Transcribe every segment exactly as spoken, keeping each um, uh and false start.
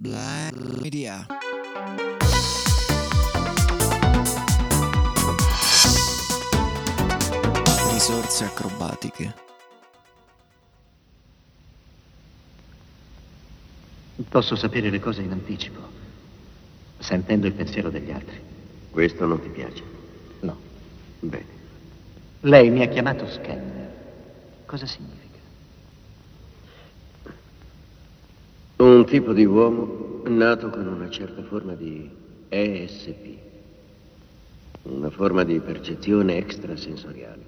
Black Media. Risorse acrobatiche. Posso sapere le cose in anticipo, sentendo il pensiero degli altri. Questo non ti piace? No. Bene. Lei mi ha chiamato scanner. Cosa significa? Un tipo di uomo nato con una certa forma di E S P, una forma di percezione extrasensoriale.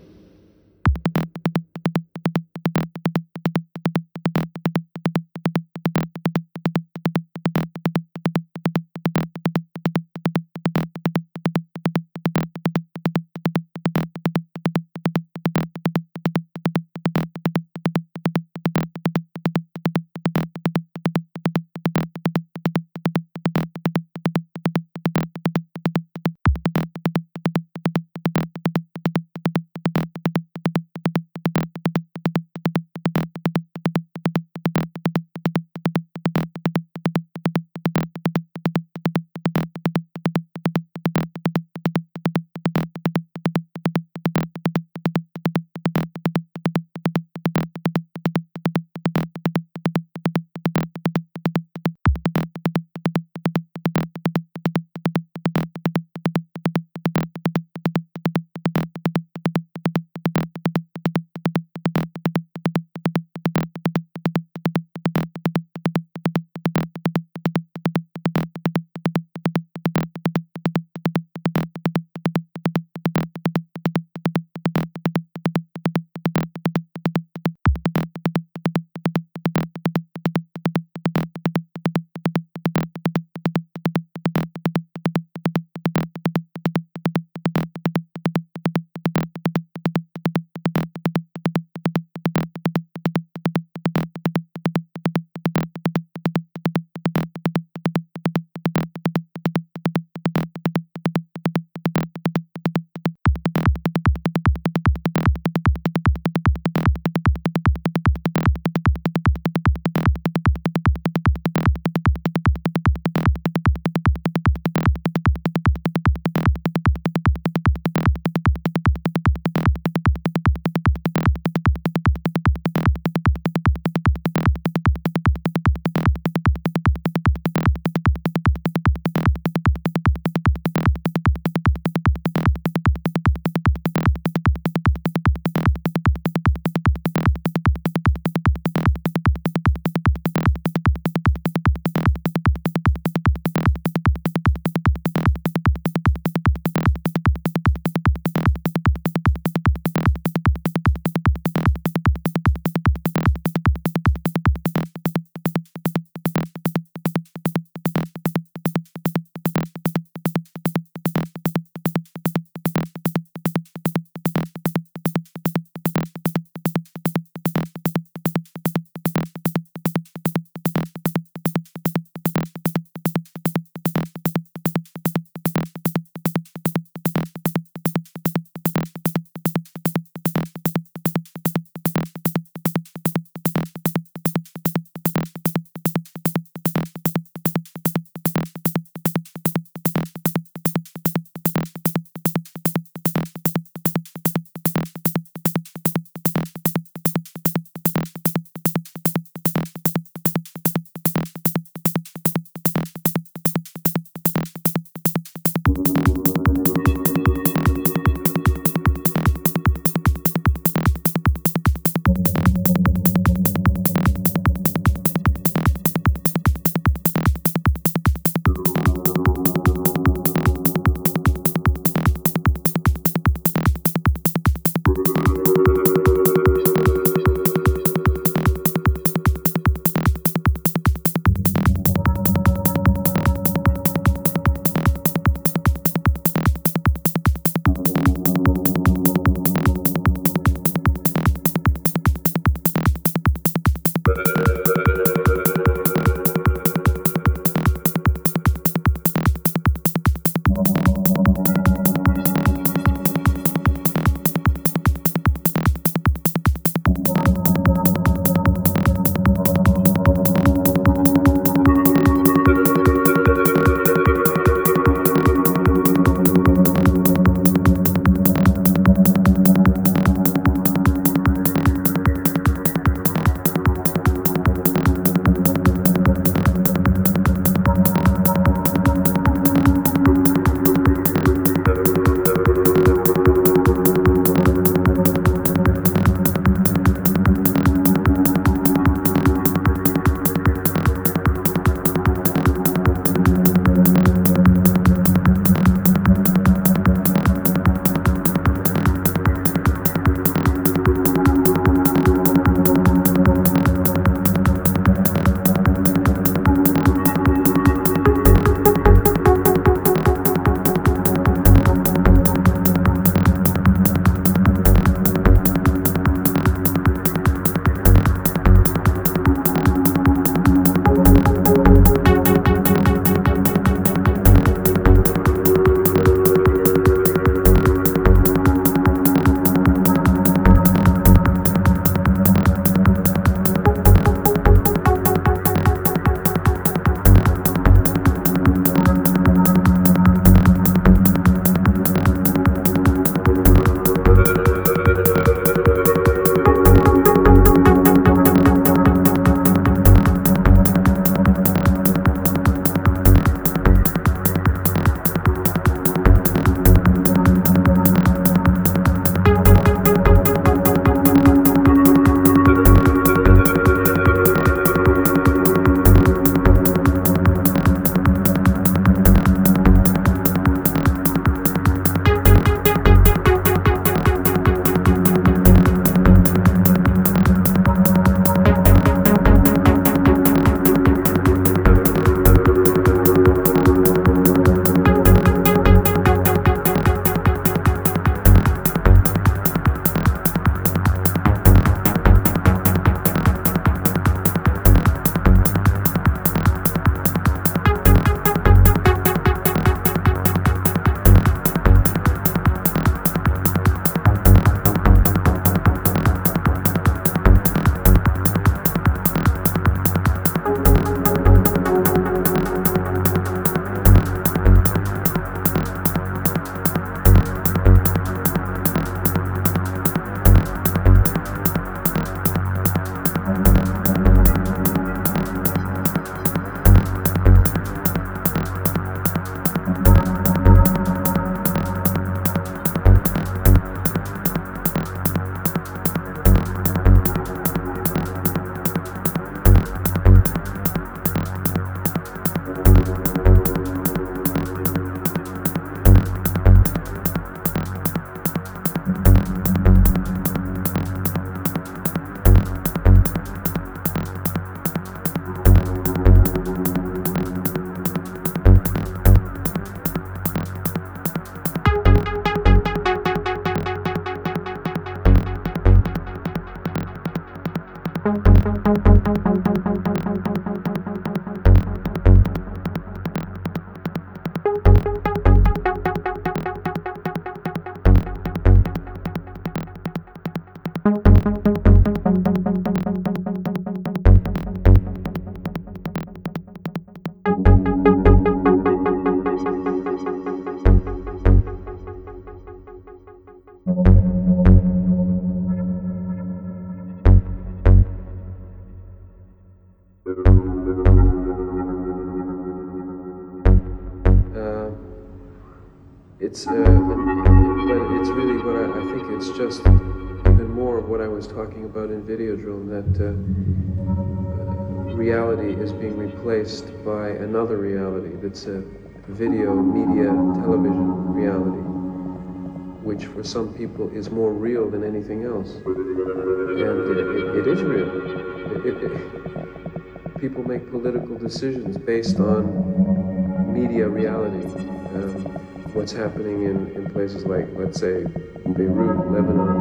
it's, uh, but it's really what I, I think it's just even more of what I was talking about in Videodrome, that uh, reality is being replaced by another reality that's a video, media, television reality, which for some people is more real than anything else. And it, it, it is real. It, it, it, people make political decisions based on media reality. Um, what's happening in, in places like, let's say, Beirut, Lebanon.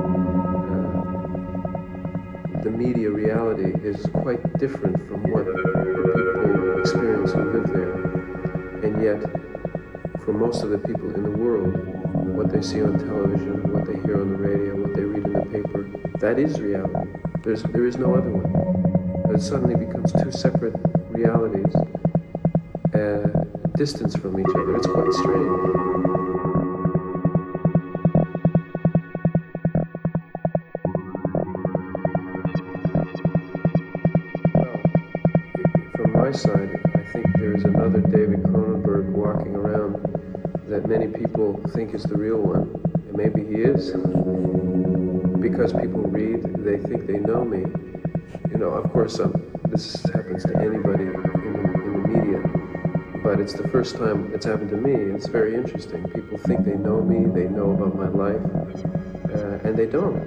Uh, the media reality is quite different from what people experience who live there. And yet, for most of the people in the world, what they see on television, what they hear on the radio, what they read in the paper, that is reality. There's, there is no other one. It suddenly becomes two separate realities, uh, distance from each other. It's quite strange. Side, I think there's another David Cronenberg walking around that many people think is the real one, and maybe he is. Because people read, they think they know me. You know, of course, um, this happens to anybody in the, in the media, but it's the first time it's happened to me. It's very interesting. People think they know me, they know about my life, uh, and they don't.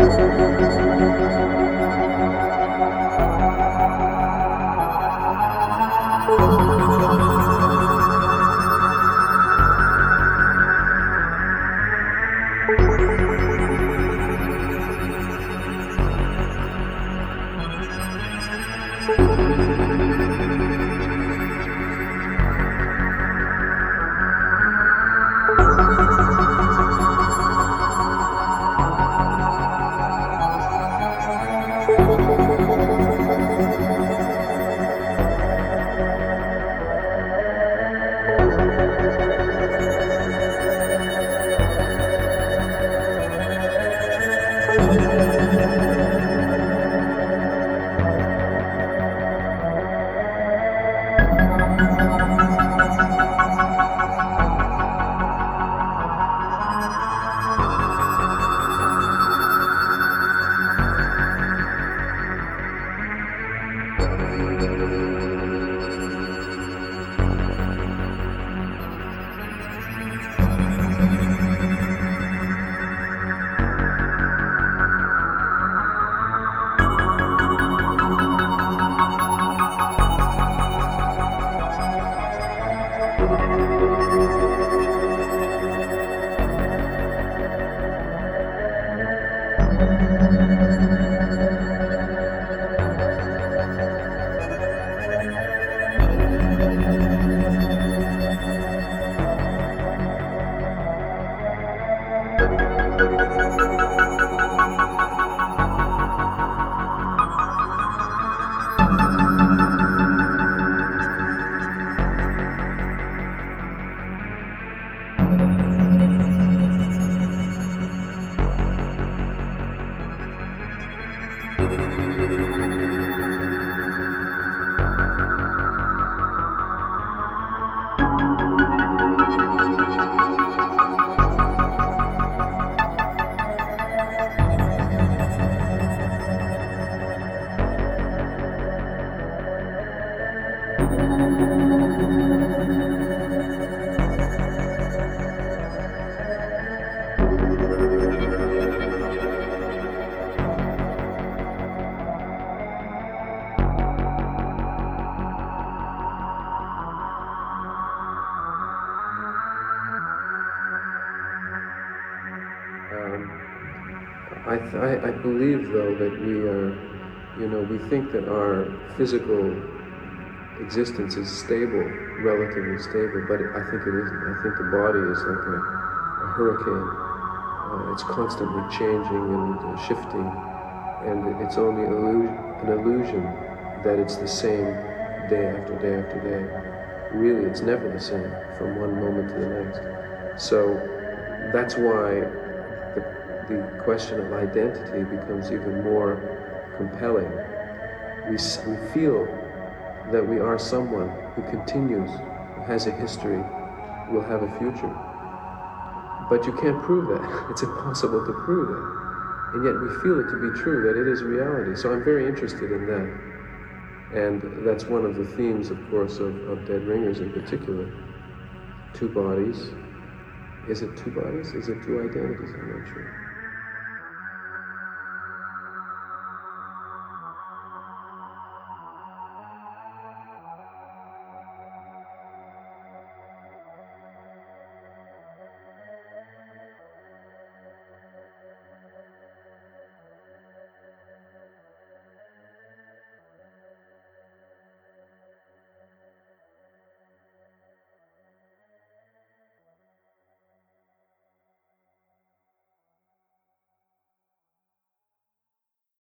I, th I, I believe, though, that we are, you know, we think that our physical existence is stable, relatively stable, but I think it isn't. I think the body is like a, a hurricane. Uh, it's constantly changing and uh, shifting, and it's only illusion, an illusion that it's the same day after day after day. Really, it's never the same from one moment to the next. So that's why the, the question of identity becomes even more compelling. We, we feel that we are someone who continues, who has a history, will have a future. But you can't prove that. It's impossible to prove that. And yet we feel it to be true, that it is reality. So I'm very interested in that. And that's one of the themes, of course, of, of Dead Ringers in particular. Two bodies. Is it two bodies? Is it two identities? I'm not sure.